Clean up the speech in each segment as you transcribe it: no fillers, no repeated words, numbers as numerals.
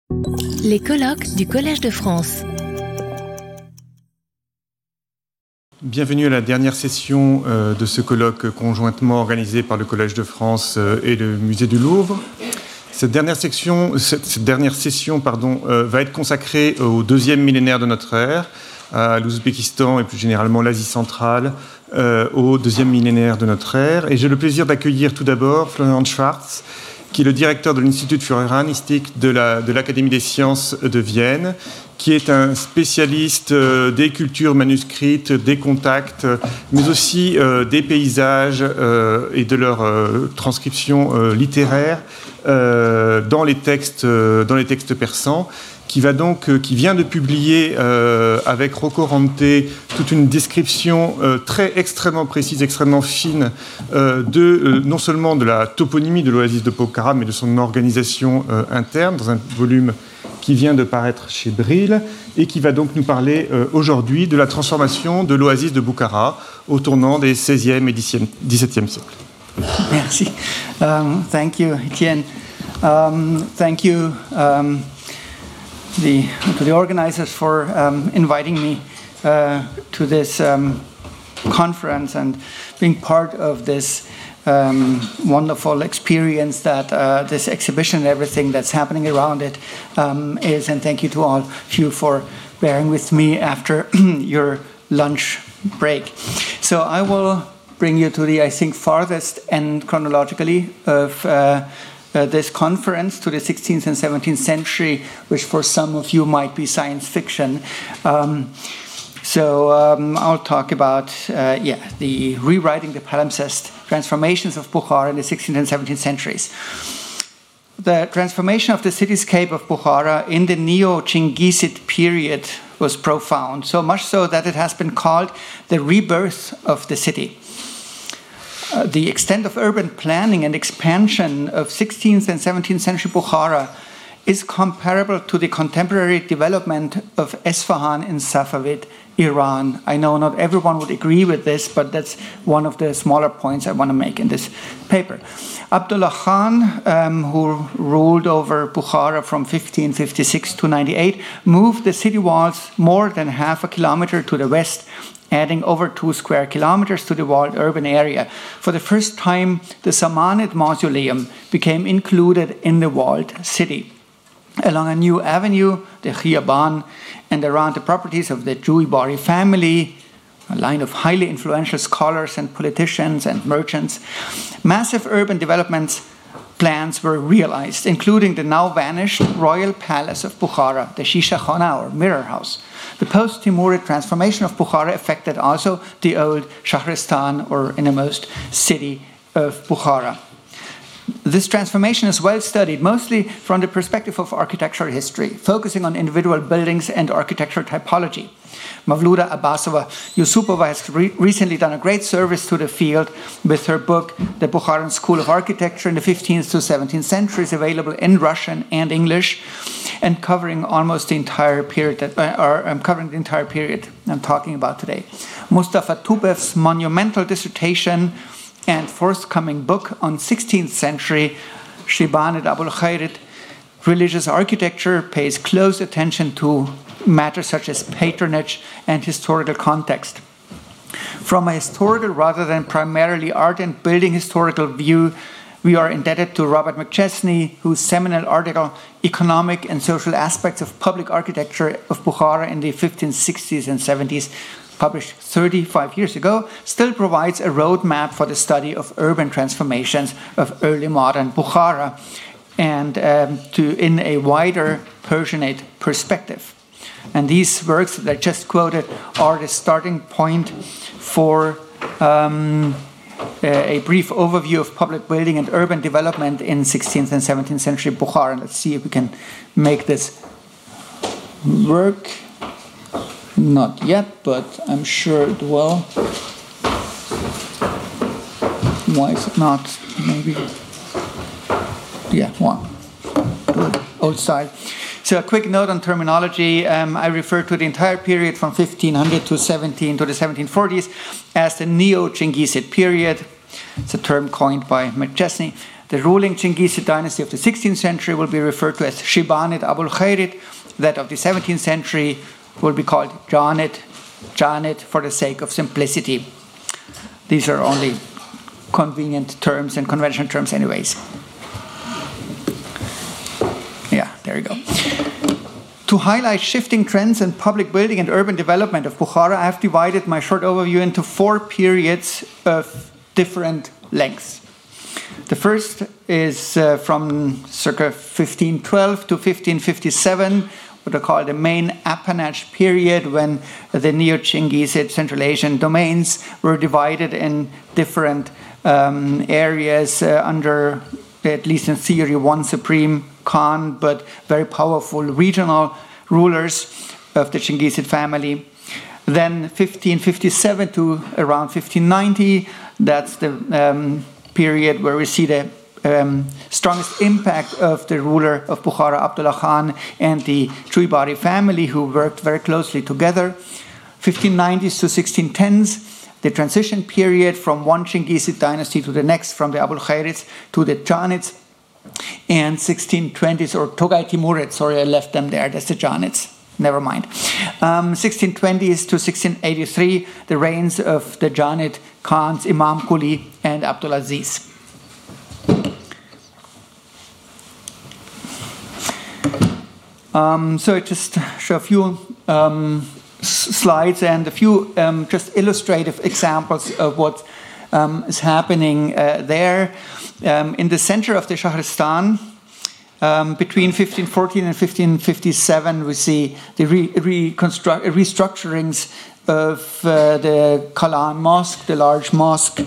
Les colloques du Collège de France. Bienvenue à la dernière session de ce colloque conjointement organisé par le Collège de France et le Musée du Louvre. Cette dernière session va être consacrée au deuxième millénaire de notre ère, à l'Ouzbékistan et plus généralement l'Asie centrale, au deuxième millénaire de notre ère. Et j'ai le plaisir d'accueillir tout d'abord Florian Schwarz, qui est le directeur de l'Institut für Iranistik de l'Académie des sciences de Vienne, qui est un spécialiste des cultures manuscrites, des contacts, mais aussi des paysages et de leur transcription littéraire dans les textes persans, qui vient de publier avec Rocco Rante toute une description extrêmement précise, extrêmement fine non seulement de la toponymie de l'oasis de Pokhara, mais de son organisation interne, dans un volume qui vient de paraître chez Brill, et qui va donc nous parler aujourd'hui de la transformation de l'oasis de Bukhara au tournant des XVIe et XVIIe siècles. Merci. Thank you, Etienne. Thank you to the organizers for inviting me to this conference and being part of this wonderful experience that this exhibition and everything that's happening around it is. And thank you to all of you for bearing with me after your lunch break. So I will bring you to the, I think, farthest end chronologically of this conference, to the 16th and 17th century, which for some of you might be science fiction. I'll talk about the rewriting the palimpsest, transformations of Bukhara in the 16th and 17th centuries. The transformation of the cityscape of Bukhara in the Neo-Chingisid period was profound, so much so that it has been called the rebirth of the city. The extent of urban planning and expansion of 16th and 17th century Bukhara is comparable to the contemporary development of Esfahan in Safavid Iran. I know not everyone would agree with this, but that's one of the smaller points I want to make in this paper. Abdullah Khan, who ruled over Bukhara from 1556 to 98, moved the city walls more than half a kilometer to the west, adding over 2 square kilometers to the walled urban area. For the first time, the Samanid Mausoleum became included in the walled city. Along a new avenue, the Khiyaban, and around the properties of the Juibari family, a line of highly influential scholars and politicians and merchants, massive urban development plans were realized, including the now vanished royal palace of Bukhara, the Shisha Khana or Mirror House. The post-Timurid transformation of Bukhara affected also the old Shahristan or innermost city of Bukhara. This transformation is well studied, mostly from the perspective of architectural history, focusing on individual buildings and architectural typology. Mavluda Abbasova Yusupova has recently done a great service to the field with her book, The Bukharan School of Architecture in the 15th to 17th centuries, available in Russian and English, and covering almost the entire period I'm talking about today. Mustafa Tubev's monumental dissertation and forthcoming book on 16th century Shibanid Abul Khairit religious architecture pays close attention to matters such as patronage and historical context. From a historical rather than primarily art and building historical view, we are indebted to Robert McChesney, whose seminal article, Economic and Social Aspects of Public Architecture of Bukhara in the 1560s and 70s, published 35 years ago, still provides a roadmap for the study of urban transformations of early modern Bukhara and in a wider Persianate perspective. And these works that I just quoted are the starting point for a brief overview of public building and urban development in 16th and 17th century Bukhara. Let's see if we can make this work. Not yet, but I'm sure it will. Why is it not? Maybe. Yeah, one. Good. Old style. So a quick note on terminology. I refer to the entire period from 1500 to the 1740s as the Neo-Chingisid period. It's a term coined by McChesney. The ruling Chinggizid dynasty of the 16th century will be referred to as Shibanid Abul Khairid. That of the 17th century will be called Janid for the sake of simplicity. These are only convenient terms and conventional terms anyways. Yeah, there you go. To highlight shifting trends in public building and urban development of Bukhara, I have divided my short overview into 4 periods of different lengths. The first is from circa 1512 to 1557, what I call the main appanage period, when the Neo-Chinggizid Central Asian domains were divided in different areas under, at least in theory, one supreme Khan, but very powerful regional rulers of the Chinggizid family. Then 1557 to around 1590, that's the period where we see the strongest impact of the ruler of Bukhara, Abdullah Khan, and the Chuibari family, who worked very closely together. 1590s to 1610s, the transition period from one Chinggizid dynasty to the next, from the Abul Khairids to the Janids. And 1620s, or Togay Timurids, sorry, I left them there, that's the Janids, never mind. 1620s to 1683, the reigns of the Janid Khans, Imam Quli and Abdulaziz. So I just show a few slides and a few just illustrative examples of what is happening there. In the center of the Shahristan, between 1514 and 1557, we see the restructurings of the Kalan Mosque, the large mosque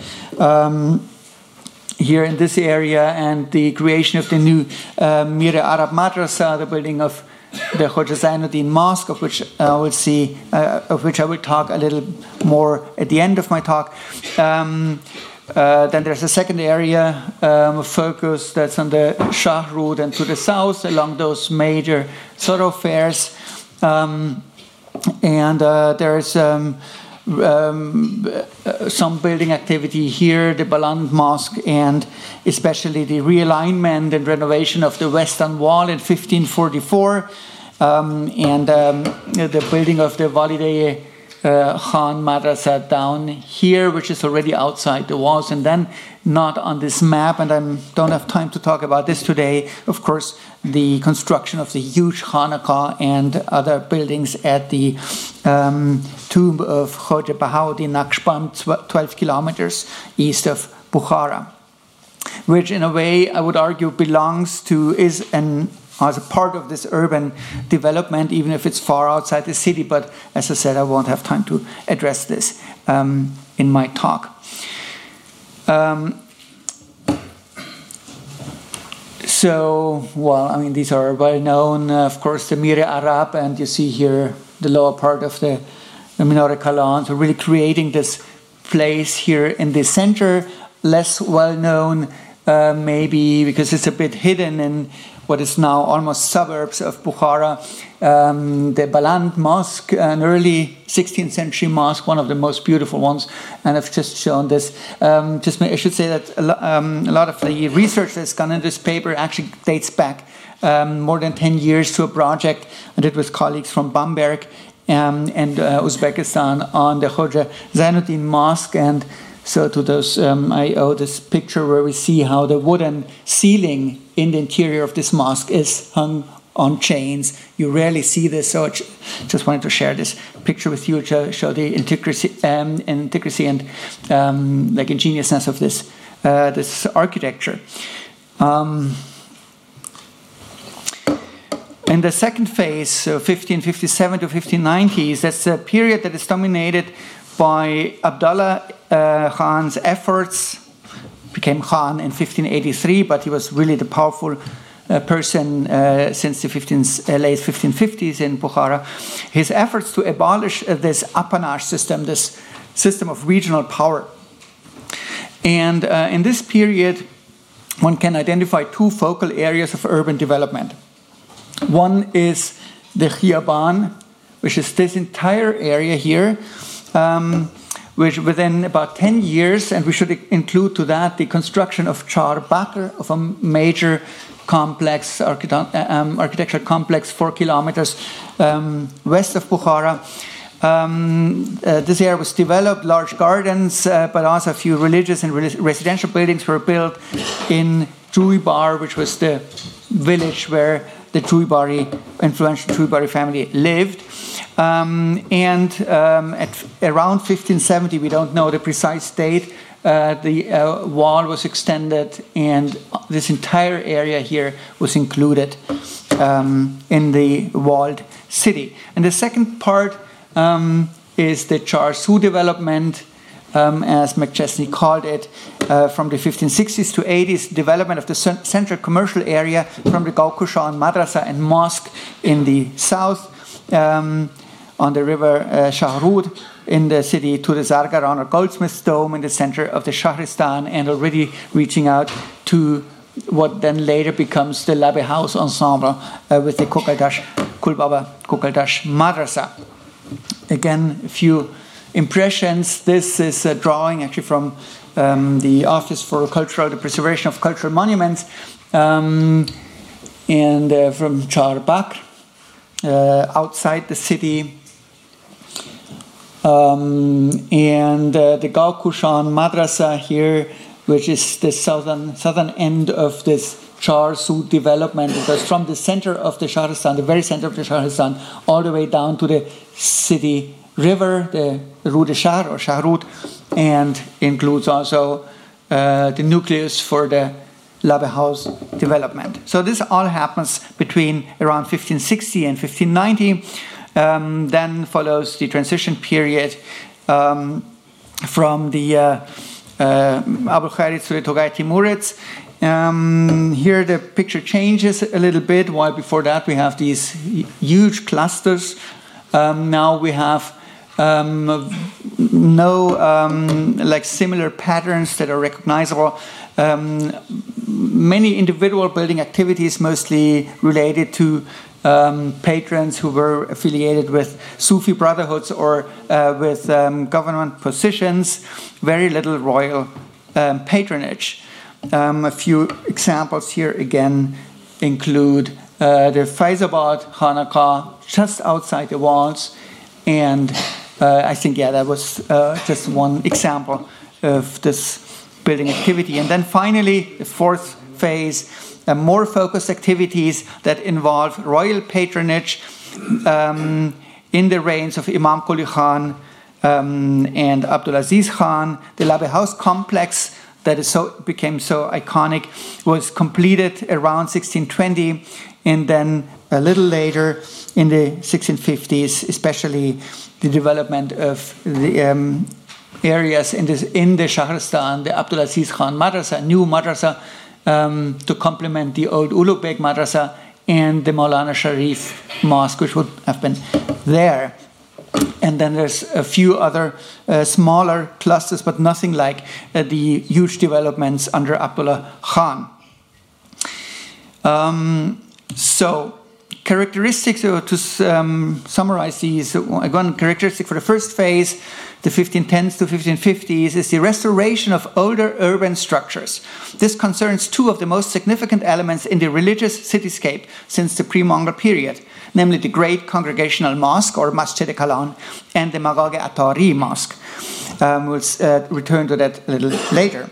here in this area, and the creation of the new Mir Arab Madrasa, the building of the Khoja Zainuddin Mosque, of which I will talk a little more at the end of my talk. Then there's a second area of focus that's on the Shah Road and to the south along those major thoroughfares. And there's some building activity here, the Baland Mosque, and especially the realignment and renovation of the Western Wall in 1544, and the building of the Walideh Khan Madrasa down here, which is already outside the walls, and then not on this map, and I don't have time to talk about this today, of course, the construction of the huge Khanaqah and other buildings at the tomb of Khoja Bahauddin Naqshband, 12 kilometers east of Bukhara, which in a way I would argue belongs to, as a part of this urban development, even if it's far outside the city. But as I said, I won't have time to address this in my talk. These are well known. Of course, the Mir Arab, and you see here the lower part of the Minare Kalan. So really creating this place here in the center, less well known maybe because it's a bit hidden in what is now almost suburbs of Bukhara. The Baland Mosque, an early 16th century mosque, one of the most beautiful ones, and I've just shown this. I should say that a lot of the research that's gone in this paper actually dates back more than 10 years to a project I did with colleagues from Bamberg and Uzbekistan on the Khoja Zainuddin Mosque. And so to those, I owe this picture where we see how the wooden ceiling in the interior of this mosque is hung on chains. You rarely see this, so I just wanted to share this picture with you to show the intricacy and ingeniousness of this architecture. In the second phase, so 1557 to 1590s, that's a period that is dominated by Abdullah Khan's efforts. Became Khan in 1583, but he was really the powerful person since the late 1550s in Bukhara. His efforts to abolish this appanage system, this system of regional power. And in this period, one can identify two focal areas of urban development. One is the Khiyaban, which is this entire area here, which within about 10 years, and we should include to that the construction of Char Bakr, of a major complex, architectural complex 4 kilometers west of Bukhara. This area was developed, large gardens, but also a few religious and residential buildings were built in Juibar, which was the village where the influential Juibari family lived. At around 1570, we don't know the precise date, the wall was extended, and this entire area here was included in the walled city. And the second part is the Char Su development, as McChesney called it, from the 1560s to 80s, development of the central commercial area from the Gaukushan Madrasa and Mosque in the south, on the river Shahrud in the city, to the Zargaran or Goldsmith's Dome in the center of the Shahristan, and already reaching out to what then later becomes the Labe House ensemble with the Kulbaba Kukaldash Madrasa. Again, a few impressions. This is a drawing actually from the Office for the Preservation of Cultural Monuments, and from Char Bakr, outside the city. And the Gaukushan Madrasa here, which is the southern end of this Char Su development. It goes from the center of the Shahristan, the very center of the Shahristan, all the way down to the city river, the Rue de Shahr or Shahrud, and includes also the nucleus for the Labe House development. So this all happens between around 1560 and 1590. Then follows the transition period from the Abul Khairitz to the Togay Timurids. Here the picture changes a little bit, while before that we have these huge clusters. Now we have like similar patterns that are recognizable. Many individual building activities, mostly related to patrons who were affiliated with Sufi brotherhoods or with government positions. Very little royal patronage. A few examples here again include the Faizabad Khanaqah just outside the walls, and I think that was just one example of this building activity. And then finally, the fourth phase, more focused activities that involve royal patronage in the reigns of Imam Quli Khan and Abdulaziz Khan. The Labe House complex that became so iconic was completed around 1620, and then a little later in the 1650s, especially the development of the areas in the Shahristan, the Abdulaziz Khan Madrasa, new madrasa, to complement the old Ulugh Madrasa and the Maulana Sharif Mosque, which would have been there. And then there's a few other smaller clusters, but nothing like the huge developments under Abdullah Khan. So, characteristics, to summarize these, one characteristic for the first phase, the 1510s to 1550s, is the restoration of older urban structures. This concerns two of the most significant elements in the religious cityscape since the pre-Mongol period, namely the Great Congregational Mosque, or Masjid-e-Kalan, and the Magag-e-Atari Mosque. We'll return to that a little later.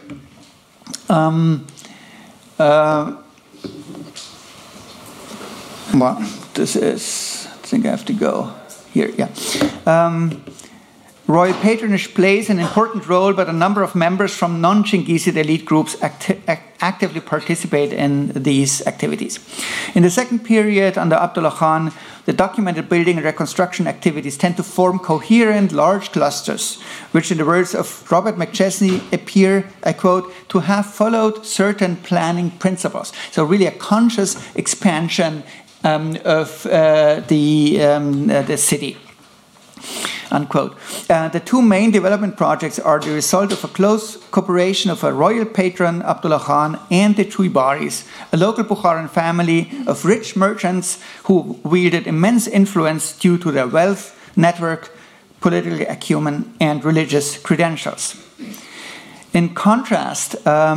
Well, this is, I think I have to go here, yeah. Royal patronage plays an important role, but a number of members from non-Chingisid elite groups actively participate in these activities. In the second period, under Abdullah Khan, the documented building and reconstruction activities tend to form coherent, large clusters, which, in the words of Robert McChesney, appear, I quote, to have followed certain planning principles. So really a conscious expansion of the city. Unquote. The two main development projects are the result of a close cooperation of a royal patron, Abdullah Khan, and the Juibaris, a local Bukharan family of rich merchants who wielded immense influence due to their wealth, network, political acumen, and religious credentials. In contrast,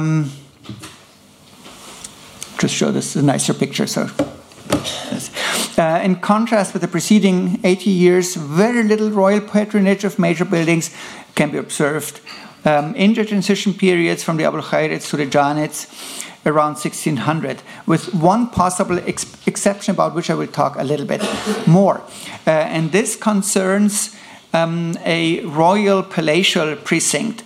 just show this a nicer picture. So, in contrast with the preceding 80 years, very little royal patronage of major buildings can be observed. In the transition periods from the Abul Khairids to the Janids around 1600, with one possible exception about which I will talk a little bit more. And this concerns a royal palatial precinct.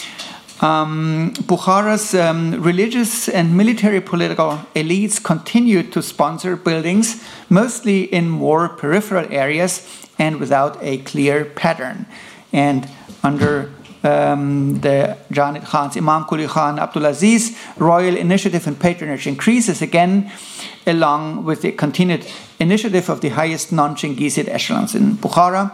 Bukhara's religious and military political elites continued to sponsor buildings, mostly in more peripheral areas and without a clear pattern. And under the Janid Khan's Imam Quli Khan Abdulaziz, royal initiative and patronage increases again, along with the continued initiative of the highest non-Chinggizid echelons in Bukhara.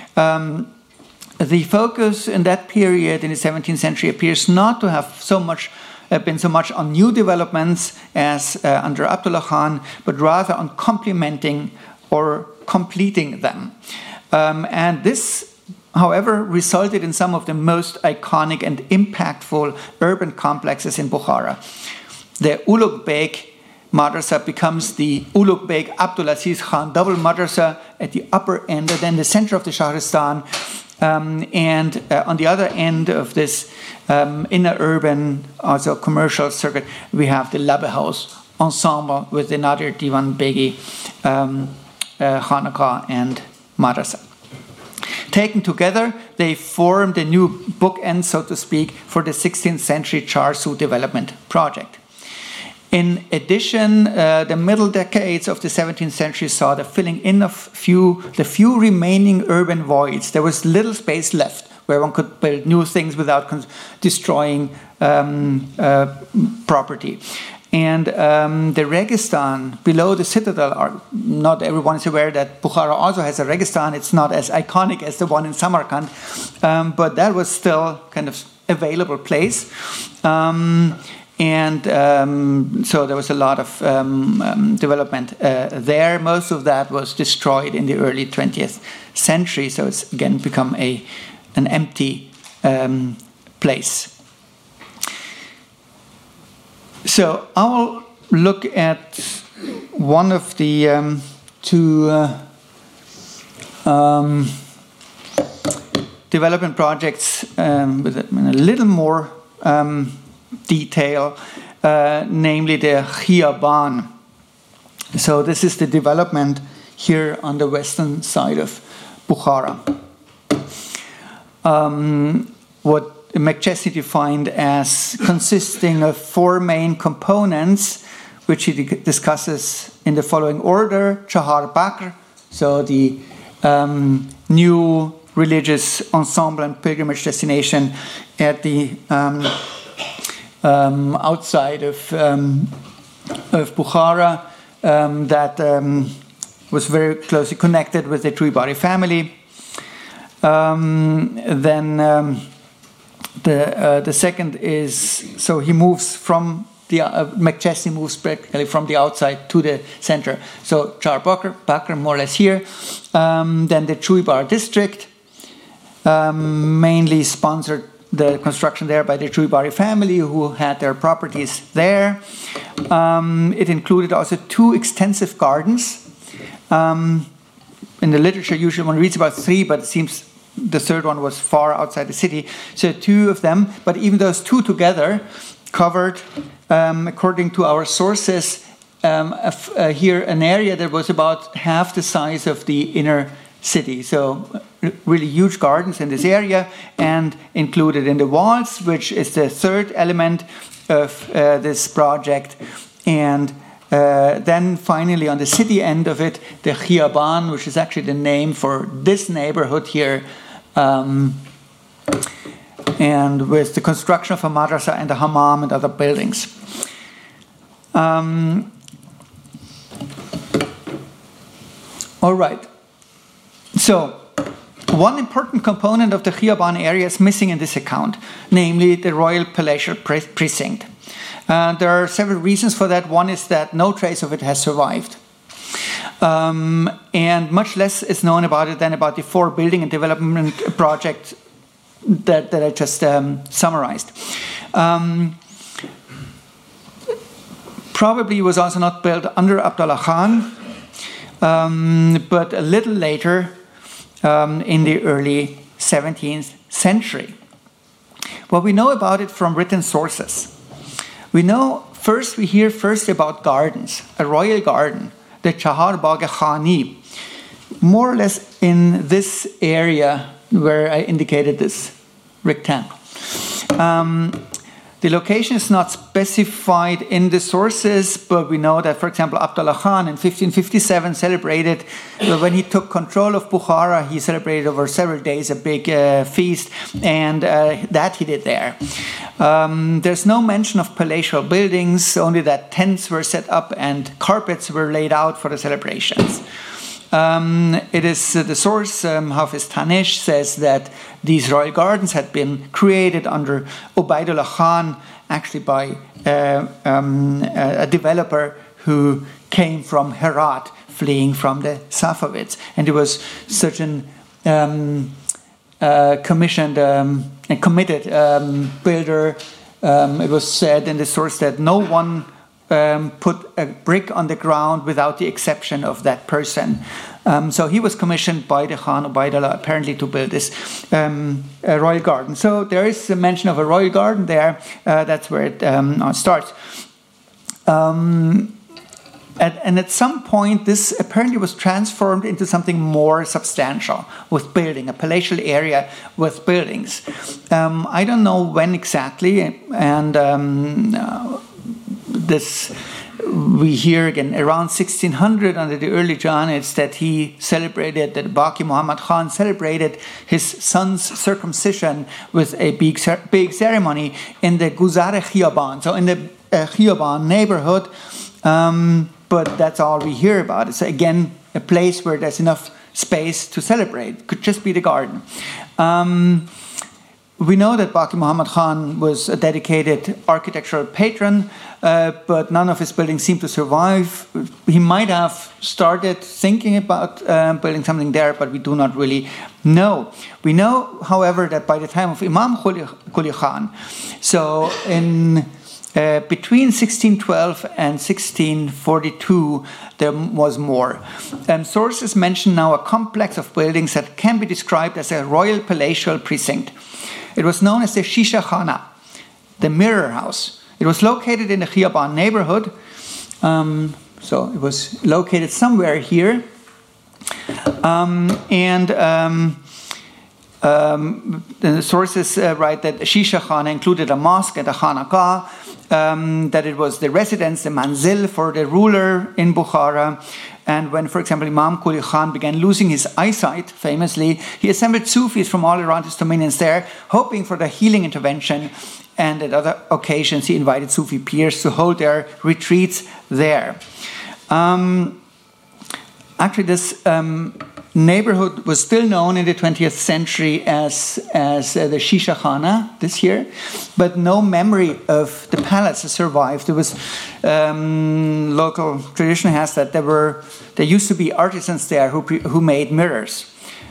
The focus in that period in the 17th century appears not to have been so much on new developments as under Abdullah Khan, but rather on complementing or completing them. And this, however, resulted in some of the most iconic and impactful urban complexes in Bukhara. The Ulugh Beg Madrasa becomes the Ulugh Beg Abdulaziz Khan double madrasa at the upper end, and then the center of the Shahristan. And on the other end of this inner urban, also commercial circuit, we have the Labbe House ensemble with the Nadir Divan Begi Khanaqah and Madrasa. Taken together, they formed a new bookend, so to speak, for the 16th century Charsu development project. In addition, the middle decades of the 17th century saw the filling in of the few remaining urban voids. There was little space left where one could build new things without destroying property. And the Registan below the citadel, not everyone is aware that Bukhara also has a Registan. It's not as iconic as the one in Samarkand, but that was still kind of available place. And so there was a lot of development there. Most of that was destroyed in the early 20th century, so it's again become an empty place. So I will look at one of the two development projects with a little more detail, namely the Khiyaban. So this is the development here on the western side of Bukhara. What McChesney defined as consisting of four main components, which he discusses in the following order: Chahar Bakr, so the new religious ensemble and pilgrimage destination at the outside of Bukhara, that was very closely connected with the Tuibari family. Then the second is, so he moves from the McChesney moves practically from the outside to the center. So Chahar Bakr more or less here. Then the Tuibar district, mainly sponsored the construction there by the Tuibari family, who had their properties there. It included also two extensive gardens. In the literature, usually one reads about three, but it seems the third one was far outside the city. So two of them, but even those two together covered, according to our sources, here an area that was about half the size of the inner city. So really huge gardens in this area, and included in the walls, which is the third element of this project. And then finally on the city end of it, the Khiyaban, which is actually the name for this neighborhood here, and with the construction of a madrasa and a hammam and other buildings. All right. So, one important component of the Khiyaban area is missing in this account, namely the royal palatial precinct. There are several reasons for that. One is that no trace of it has survived. And much less is known about it than about the 4 building and development projects that I just summarized. Probably was also not built under Abdullah Khan, but a little later in the early 17th century. What we know about it from written sources. We hear first about gardens, a royal garden, the Chahar Bagh Khani, more or less in this area where I indicated this rectangle. The location is not specified in the sources, but we know that, for example, Abdullah Khan in 1557 celebrated, when he took control of Bukhara, he celebrated over several days a big feast, and that he did there. There's no mention of palatial buildings, only that tents were set up and carpets were laid out for the celebrations. It is the source, Hafiz Tanish, says that these royal gardens had been created under Ubaidullah Khan, actually by a developer who came from Herat, fleeing from the Safavids. And he was such an commissioned and committed builder. It was said in the source that no one put a brick on the ground without the exception of that person. So he was commissioned by the Khan Ubaidullah apparently to build this royal garden. So there is a mention of a royal garden there. That's where it starts. And at some point, this apparently was transformed into something more substantial with building, a palatial area with buildings. I don't know when exactly, and this we hear again around 1600 under the early Jahanids that he celebrated, that Baqi Muhammad Khan celebrated his son's circumcision with a big ceremony in the Guzar Khiyaban, so in the Khiyaban neighborhood. But that's all we hear about. It's again a place where there's enough space to celebrate. It could just be the garden. We know that Baqi Muhammad Khan was a dedicated architectural patron, but none of his buildings seem to survive. He might have started thinking about building something there, but we do not really know. We know, however, that by the time of Imam Quli Khan, so in between 1612 and 1642, there was more. Sources mention now a complex of buildings that can be described as a royal palatial precinct. It was known as the Shisha Khana, the mirror house. It was located in the Khiyaban neighborhood. So it was located somewhere here. The sources write that Shisha Khana included a mosque and a Khanaqah, that it was the residence, the manzil for the ruler in Bukhara. And when, for example, Imam Quli Khan began losing his eyesight, famously, he assembled Sufis from all around his dominions there, hoping for the healing intervention. And at other occasions, he invited Sufi peers to hold their retreats there. Actually, this neighborhood was still known in the 20th century as the Shisha Khana this year, but no memory of the palace has survived. There was local tradition has that there used to be artisans there who made mirrors,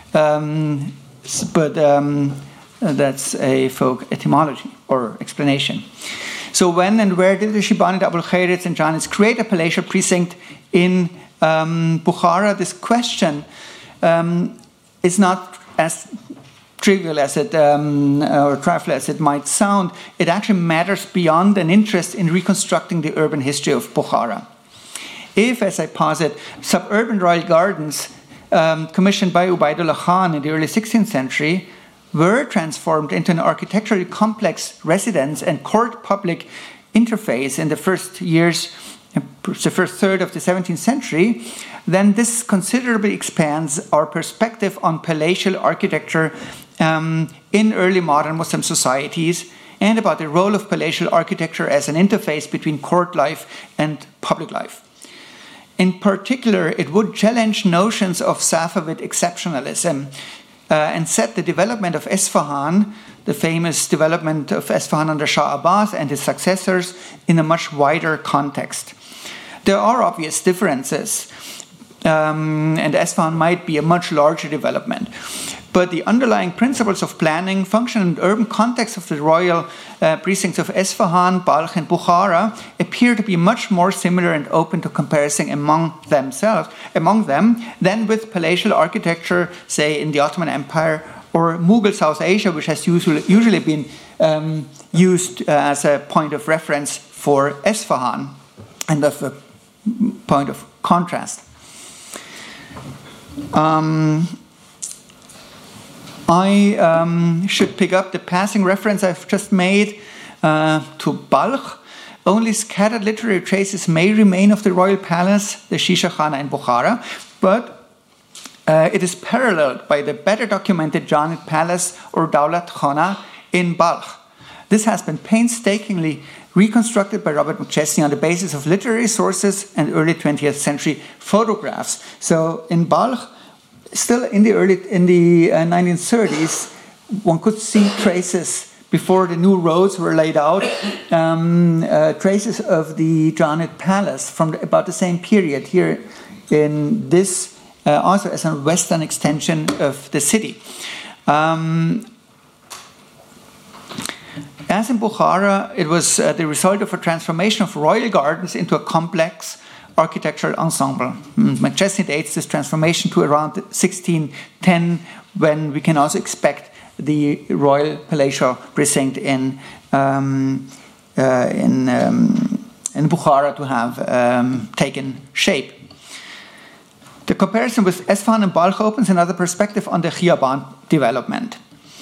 but that's a folk etymology or explanation. So when and where did the Shibani, the Abul Khairids and Jahanids create a palatial precinct in Bukhara? This question is not as trivial as it or trifling as it might sound. It actually matters beyond an interest in reconstructing the urban history of Bukhara. If, as I posit, suburban royal gardens commissioned by Ubaidullah Khan in the early 16th century were transformed into an architecturally complex residence and court public interface in the first years, the first third of the 17th century, then this considerably expands our perspective on palatial architecture in early modern Muslim societies and about the role of palatial architecture as an interface between court life and public life. In particular, it would challenge notions of Safavid exceptionalism and set the development of Esfahan, the famous development of Esfahan under Shah Abbas and his successors, in a much wider context. There are obvious differences and Esfahan might be a much larger development. But the underlying principles of planning, function, and urban context of the royal precincts of Esfahan, Balkh, and Bukhara appear to be much more similar and open to comparison among them than with palatial architecture, say in the Ottoman Empire or Mughal South Asia, which has usually been used as a point of reference for Esfahan and of a point of contrast. I should pick up the passing reference I've just made to Balkh. Only scattered literary traces may remain of the royal palace, the Shisha Khana in Bukhara, but it is paralleled by the better documented Janid Palace or Daulat Khana in Balkh. This has been painstakingly reconstructed by Robert McChesney on the basis of literary sources and early 20th century photographs. So in Balkh, still in the 1930s, one could see traces before the new roads were laid out, traces of the Janid Palace from about the same period here in this, also as a western extension of the city. As in Bukhara, it was the result of a transformation of royal gardens into a complex architectural ensemble. McChesney dates this transformation to around 1610, when we can also expect the royal palatial precinct in Bukhara to have taken shape. The comparison with Esfahan and Balkh opens another perspective on the Khiyaban development.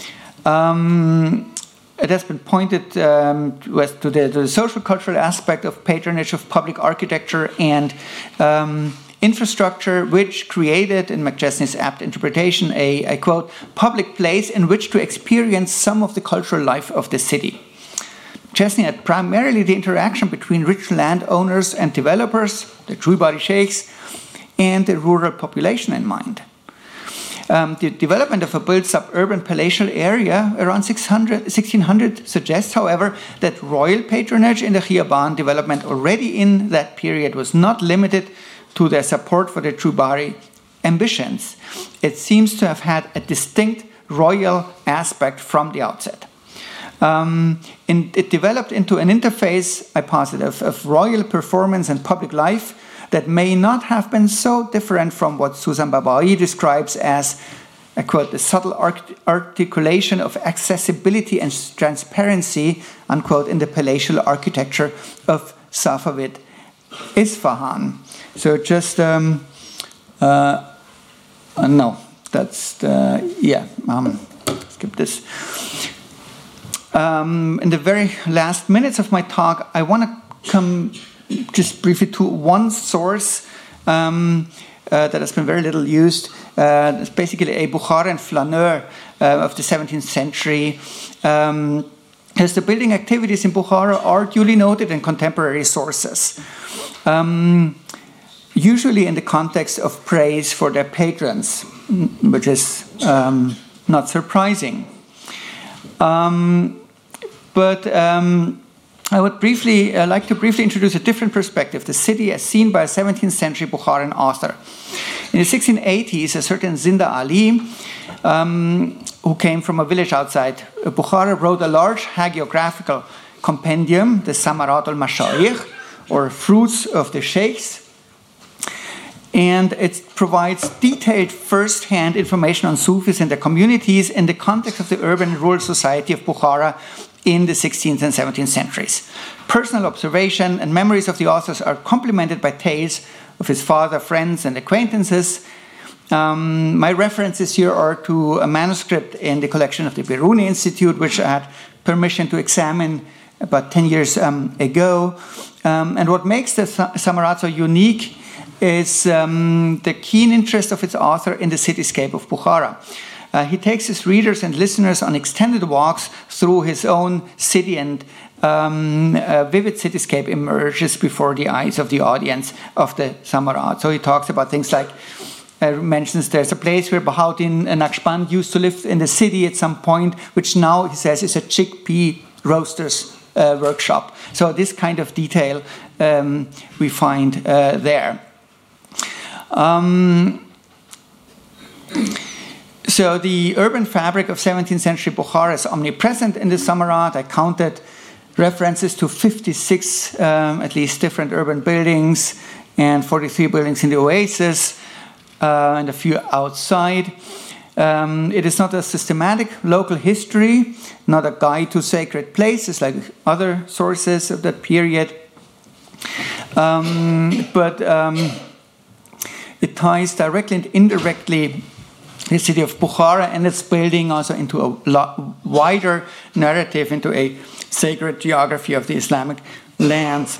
It has been pointed to the social cultural aspect of patronage of public architecture and infrastructure, which created, in McChesney's apt interpretation, a quote, public place in which to experience some of the cultural life of the city. McChesney had primarily the interaction between rich landowners and developers, the True-Body sheikhs, and the rural population in mind. The development of a built suburban palatial area around 1600 suggests, however, that royal patronage in the Khiyaban development already in that period was not limited to their support for the True-Body ambitions. It seems to have had a distinct royal aspect from the outset. It developed into an interface, I posit, of royal performance and public life that may not have been so different from what Susan Babai describes as, I quote, the subtle articulation of accessibility and transparency, unquote, in the palatial architecture of Safavid Isfahan. So just, no, that's the, skip this. In the very last minutes of my talk, I want to come just briefly to one source that has been very little used. It's basically a Bukharan flaneur of the 17th century. As the building activities in Bukhara are duly noted in contemporary sources, usually in the context of praise for their patrons, which is not surprising. I would like to briefly introduce a different perspective, the city as seen by a 17th century Bukharan author. In the 1680s, a certain Zinda Ali, who came from a village outside Bukhara, wrote a large hagiographical compendium, the Samarat al-Mashayikh, or Fruits of the Sheikhs. And it provides detailed first-hand information on Sufis and their communities in the context of the urban and rural society of Bukhara in the 16th and 17th centuries. Personal observation and memories of the authors are complemented by tales of his father, friends, and acquaintances. My references here are to a manuscript in the collection of the Biruni Institute, which I had permission to examine about 10 years ago. And what makes the Samarat so unique is the keen interest of its author in the cityscape of Bukhara. He takes his readers and listeners on extended walks through his own city, and a vivid cityscape emerges before the eyes of the audience of the Samarat. So he talks about things like, mentions there's a place where Bahauddin Naqshband used to live in the city at some point, which now, he says, is a chickpea roaster's workshop. So this kind of detail we find there. So the urban fabric of 17th century Bukhara is omnipresent in the Samarkand. I counted references to 56 at least different urban buildings and 43 buildings in the oasis and a few outside. It is not a systematic local history, not a guide to sacred places like other sources of that period, but it ties directly and indirectly the city of Bukhara and its building also into a wider narrative, into a sacred geography of the Islamic lands.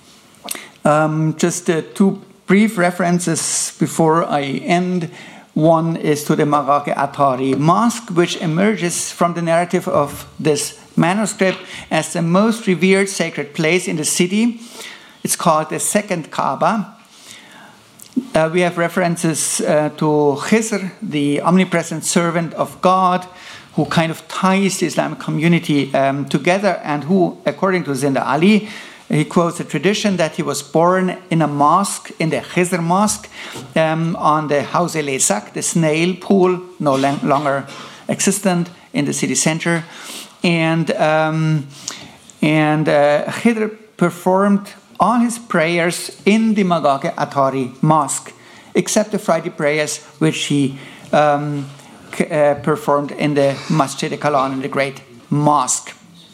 Just two brief references before I end. One is to the Maqaq-e-Atari Mosque, which emerges from the narrative of this manuscript as the most revered sacred place in the city. It's called the second Kaaba. We have references to Khizr, the omnipresent servant of God, who kind of ties the Islamic community together, and who, according to Zinda Ali, he quotes a tradition that he was born in a mosque, in the Khizr Mosque, on the Haus-e-Lesak, the snail pool, no longer existent in the city center. And Khidr performed all his prayers in the Maqaq-e-Atari Mosque, except the Friday prayers, which he performed in the Masjid-e-Kalan, in the great mosque.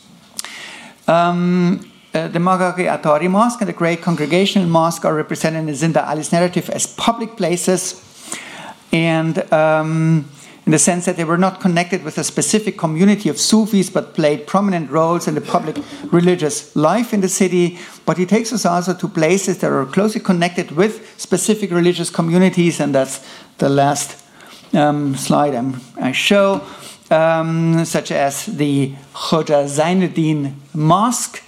The Maqaq-e-Atari Mosque and the Great Congregational Mosque are represented in Zinda Ali's narrative as public places, and in the sense that they were not connected with a specific community of Sufis, but played prominent roles in the public religious life in the city. But he takes us also to places that are closely connected with specific religious communities, and that's the last slide I show, such as the Khoja Zainuddin Mosque,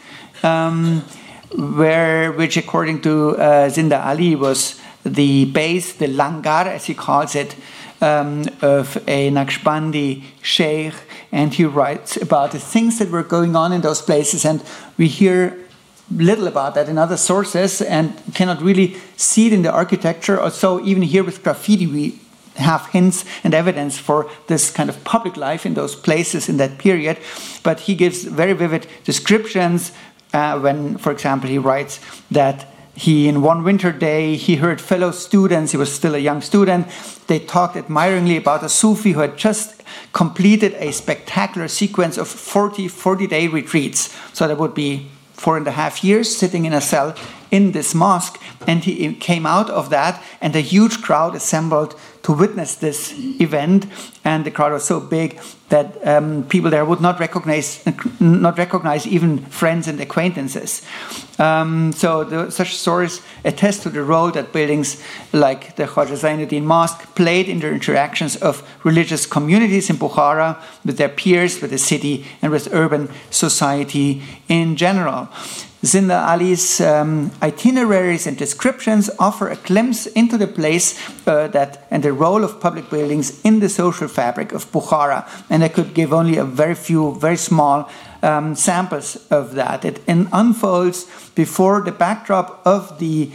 which according to Zinda Ali was the base, the langar as he calls it, of a Naqshbandi sheikh, and he writes about the things that were going on in those places, and we hear little about that in other sources and cannot really see it in the architecture. Also, even here with graffiti, we have hints and evidence for this kind of public life in those places in that period, but he gives very vivid descriptions when, for example, he writes that he, in one winter day, he heard fellow students, he was still a young student, they talked admiringly about a Sufi who had just completed a spectacular sequence of 40-day retreats. So that would be 4.5 years sitting in a cell in this mosque. And he came out of that, and a huge crowd assembled to witness this event. And the crowd was so big that people there would not recognize even friends and acquaintances. Such stories attest to the role that buildings like the Khoja Zainuddin Mosque played in the interactions of religious communities in Bukhara with their peers, with the city, and with urban society in general. Zinda Ali's itineraries and descriptions offer a glimpse into the place and the role of public buildings in the social fabric of Bukhara. And I could give only a very few, very small samples of that. It unfolds before the backdrop of the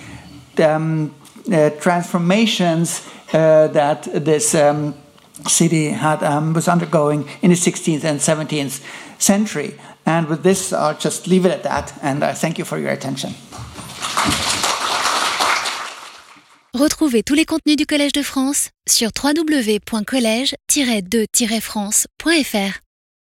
transformations that this city was undergoing in the 16th and 17th century. And with this, I'll just leave it at that, and I thank you for your attention. Retrouvez tous les contenus du Collège de France sur www.collège-2-france.fr.